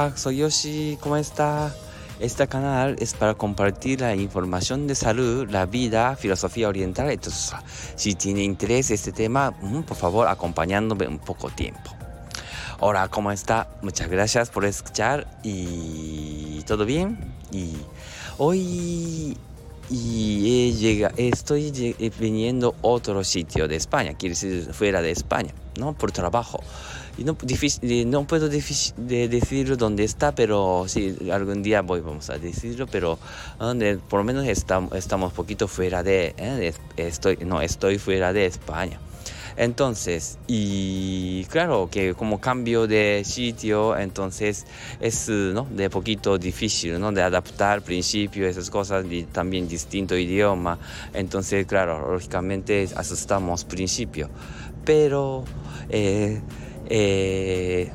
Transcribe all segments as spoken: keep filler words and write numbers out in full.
Hola, soy Yoshi, ¿cómo está? Este canal es para compartir la información de salud, la vida, filosofía oriental. Entonces, si tiene interés en este tema, por favor, acompañándome un poco tiempo. Hola, ¿cómo está? Muchas gracias por escuchar y todo bien. Y hoy y he llega, estoy lleg- viniendo a otro sitio de España, quiere decir fuera de España, ¿no? Por trabajo. Y no, difícil, no puedo difícil de decir dónde está, pero sí, algún día voy, vamos a decirlo, pero donde por lo menos estamos, estamos poquito fuera de, eh, de- estoy, no, estoy fuera de España. Entonces, y claro que como cambio de sitio, entonces es, ¿no?, de poquito difícil, ¿no?, de adaptar principio, esas cosas, y también distinto idioma. Entonces, claro, lógicamente asustamos principio. Pero, eh, eh,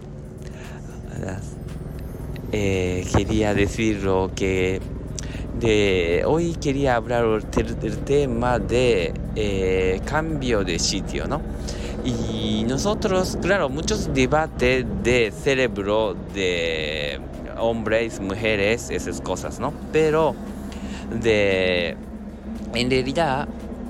eh, quería decirlo que de hoy quería hablar del, del tema de eh, cambio de sitio, ¿no? Y nosotros, claro, muchos debates de cerebro de hombres, mujeres, esas cosas, ¿no? Pero de, en realidad,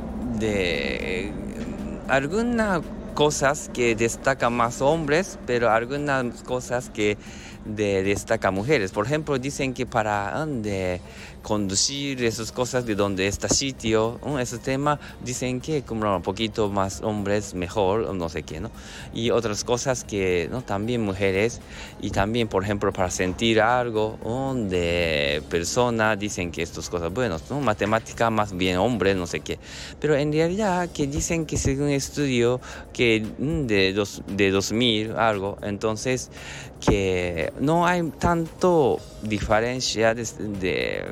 de algunas cosas que destacan más hombres, pero algunas cosas que de, destacan mujeres. Por ejemplo, dicen que para ah, de conducir esas cosas de donde está sitio, ¿no?, ese tema, dicen que como un poquito más hombres mejor, no sé qué, ¿no? Y otras cosas que, ¿no?, también mujeres. Y también, por ejemplo, para sentir algo, ¿no?, de persona, dicen que estas cosas buenas, ¿no? Matemática más bien hombres, no sé qué. Pero en realidad que dicen que según estudio que mm, de, dos, de dos mil algo, entonces que no hay tanto diferencia de, de,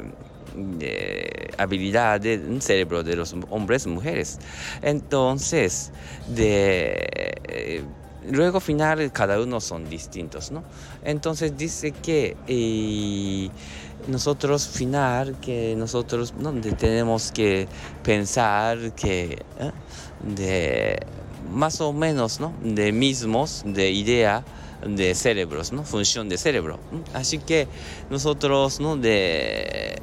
de habilidad del cerebro de los hombres y mujeres. Entonces, de... Eh, luego final cada uno son distintos, ¿no? Entonces dice que eh, nosotros final que nosotros, ¿no?, de- tenemos que pensar que ¿eh?, de más o menos, ¿no?, de mismos, de idea de cerebros, ¿no?, función de cerebro. Así que nosotros, ¿no?, de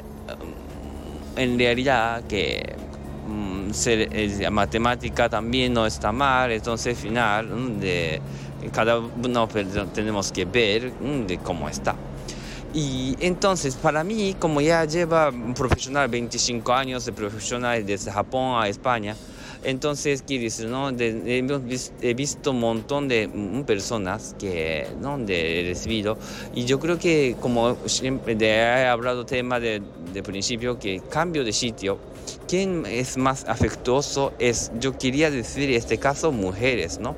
en realidad que mm, ser- eh, matemática también no está mal, entonces final mm, de cada uno pero tenemos que ver mm, de cómo está. Y entonces, para mí, como ya lleva un profesional veinticinco años de profesional desde Japón a España, entonces, quiere decir, ¿no?, de- hemos vis- he visto un montón de mm, personas que, ¿no?, de, he recibido, y yo creo que, como siempre de, he hablado tema de, de principio, que cambio de sitio, ¿quién es más afectuoso? Es, yo quería decir, en este caso, mujeres, ¿no?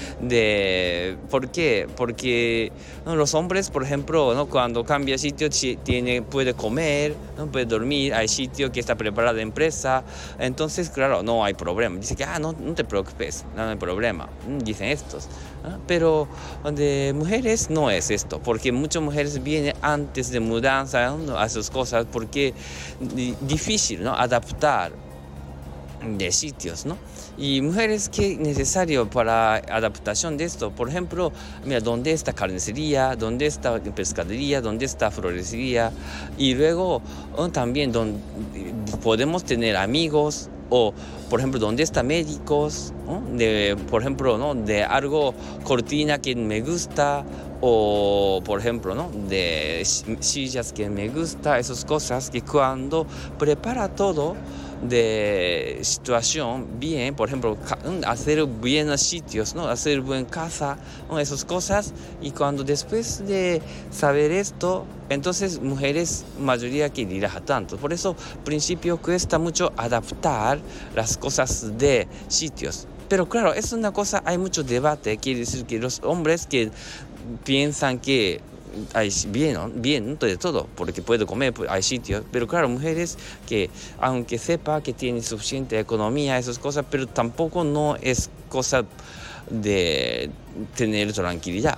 De, ¿por qué? Porque ¿no?, los hombres, por ejemplo, ¿no?, cuando cambia sitio, chi- tiene, puede comer, ¿no?, puede dormir, hay sitio que está preparada la empresa, entonces, claro, no hay problema. Dice que, ah, no, no te preocupes, no hay problema, mm, dicen estos. ¿Ah? Pero de mujeres no es esto, porque muchas mujeres vienen antes de mudanza, ¿no?, a sus cosas, porque di- difícil, ¿no?, adaptar de sitios, ¿no? Y mujeres que necesario para adaptación de esto, por ejemplo, mira, ¿dónde está carnicería? ¿Dónde está pescadería? ¿Dónde está florería? Y luego oh, también donde podemos tener amigos, o por ejemplo, ¿dónde está médicos? ¿No? De, por ejemplo, ¿no?, de algo cortina que me gusta, o por ejemplo, ¿no?, de sillas que me gusta, esas cosas que cuando prepara todo de situación bien, por ejemplo, ca- hacer buenos sitios, ¿no?, hacer buena casa, ¿no?, esas cosas. Y cuando después de saber esto, entonces mujeres mayoría que dirá tanto. Por eso, al principio cuesta mucho adaptar las cosas de sitios. Pero claro, es una cosa, hay mucho debate, quiere decir que los hombres que piensan que hay bien, ¿no?, bien de todo, porque puede comer, pues, hay sitios, pero claro, mujeres que aunque sepa que tiene suficiente economía, esas cosas, pero tampoco no es cosa de tener tranquilidad.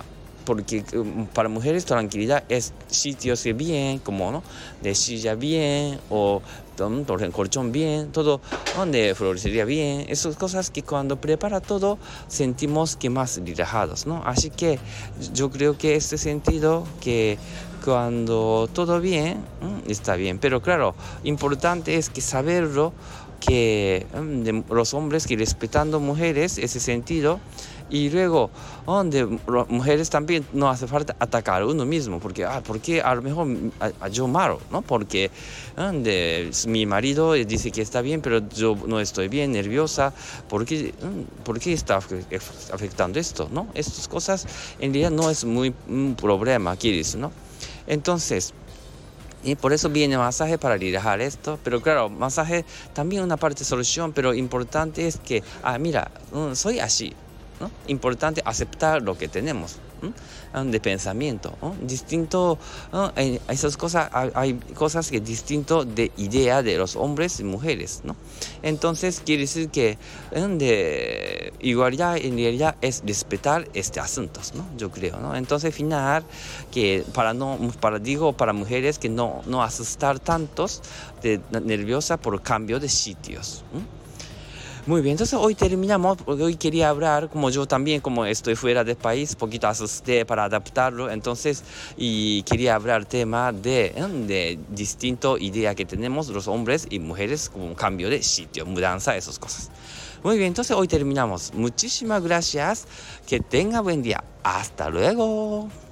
porque um, para mujeres tranquilidad es sitios que bien, como no, de silla bien o um, por ejemplo, colchón bien, todo donde florecería bien, esas cosas que cuando prepara todo sentimos que más relajados, ¿no? Así que yo creo que este sentido que cuando todo bien, mm, está bien, pero claro, importante es que saberlo que mm, de los hombres que respetando mujeres ese sentido y luego donde mujeres también no hace falta atacar a uno mismo porque ah porque a lo mejor a, a yo malo, ¿no? Porque donde mi marido dice que está bien pero yo no estoy bien, nerviosa, ¿por qué, por qué está afectando esto, ¿no? Estas cosas en realidad no es muy un problema, ¿quieres, no? Entonces y por eso viene masaje para relajar esto, pero claro, masaje también una parte de solución, pero importante es que, ah, mira, soy así, ¿no? Importante aceptar lo que tenemos, ¿no? De pensamiento, ¿no? Distinto, ¿no? En esas cosas, hay cosas que distinto de idea de los hombres y mujeres, ¿no? Entonces quiere decir que de igualdad en realidad es respetar este asuntos, ¿no? Yo creo, ¿no? Entonces final que para no, para digo para mujeres que no no asustar tantos de nerviosa por cambio de sitios, ¿no? Muy bien, entonces hoy terminamos, porque hoy quería hablar, como yo también, como estoy fuera del país, poquito asusté para adaptarlo, entonces, y quería hablar tema de, ¿eh? de distinto idea que tenemos los hombres y mujeres, como un cambio de sitio, mudanza, esas cosas. Muy bien, entonces hoy terminamos. Muchísimas gracias, que tenga buen día. Hasta luego.